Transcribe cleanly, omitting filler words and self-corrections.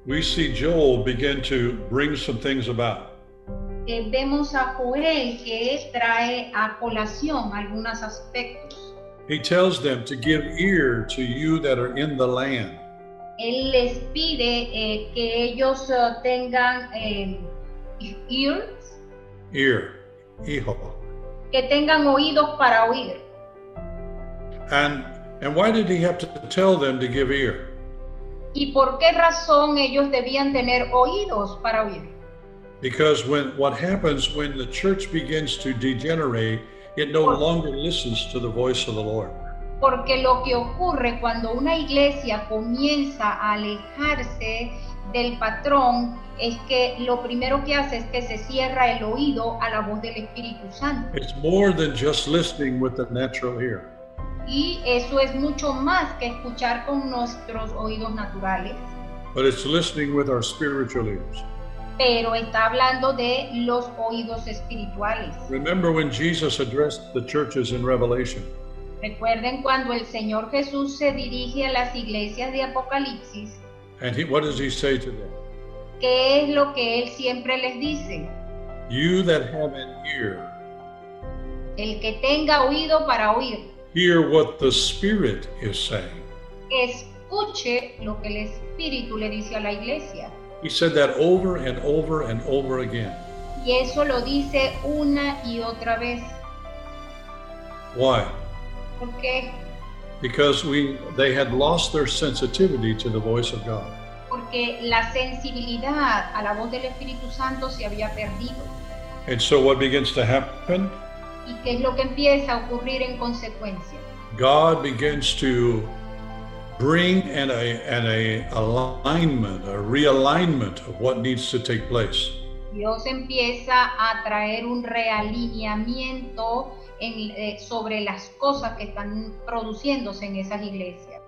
we see Joel begin to bring some things about. Vemos a Joel que trae a colación algunos aspectos. He tells them to give ear to you that are in the land. Él les pide que ellos tengan ears, Ear, hijo. que tengan oídos para oír. And why did he have to tell them to give ear? ¿Y por qué razón ellos debían tener oídos para oír? Because what happens when the church begins to degenerate, it no longer listens to the voice of the Lord. Porque lo que ocurre cuando una iglesia comienza a alejarse del patrón es que lo primero que hace es que se cierra el oído a la voz del Espíritu Santo. It's more than just listening with the natural ear. Y eso es mucho más que escuchar con nuestros oídos naturales. But it's listening with our spiritual ears. Pero está hablando de los oídos espirituales. Remember when Jesus addressed the churches in Revelation? Recuerden cuando el Señor Jesús se dirige a las iglesias de Apocalipsis. And what does he say to them? ¿Qué es lo que él siempre les dice? You that have an ear, El que tenga oído para oír, hear what the Spirit is saying. escuche lo que el Espíritu le dice a la iglesia. He said that over and over and over again. Y eso lo dice una y otra vez. Why? ¿Por qué? Because they had lost their sensitivity to the voice of God. Porque la sensibilidad a la voz del Espíritu Santo se había perdido. And so what begins to happen? ¿Y qué es lo que empieza a ocurrir en consecuencia? God begins to bring an alignment, a realignment of what needs to take place. Dios empieza a traer un realineamiento sobre las cosas que están produciéndose en esas iglesias.